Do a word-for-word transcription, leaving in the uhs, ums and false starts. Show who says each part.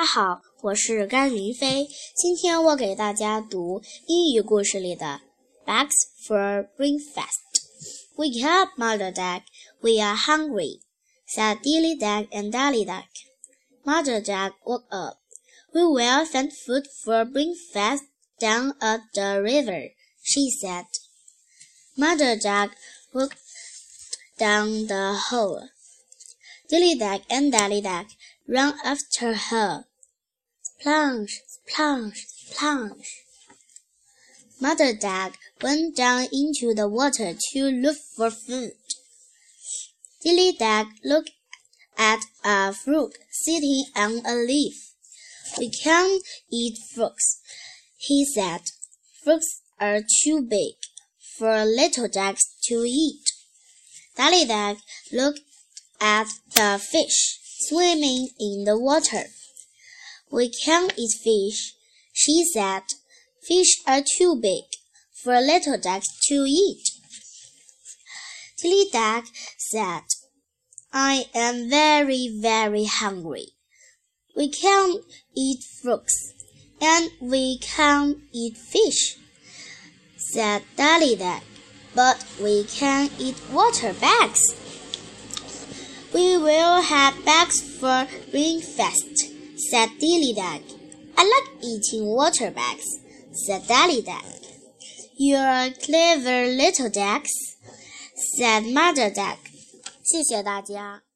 Speaker 1: 家好，我是甘云飞。今天我给大家读英语故事里的 Bags for breakfast. Wake up, Mother Duck. We are hungry, said Dilly Duck and Dally Duck. Mother Duck woke up. We will find food for breakfast down at the river, she said. Mother Duck walked down the hole. Dilly Duck and Dally Duck ran after her. Splash, splash, splash. Mother Duck went down into the water to look for food. Dilly Duck looked at a frog sitting on a leaf. We can't eat frogs, he said. Frogs are too big for little ducks to eat. Dally Duck looked at the fish swimming in the water. We can't eat fish, she said. Fish are too big for little ducks to eat. Dilly Duck said, I am very, very hungry. We can't eat frogs, and we can't eat fish, said Dally Duck, but we can eat water bags. We will have bags for breakfast, said Dilly Duck. I like eating water bags, said Dally Duck. You're clever little ducks, said Mother Duck. 谢谢大家。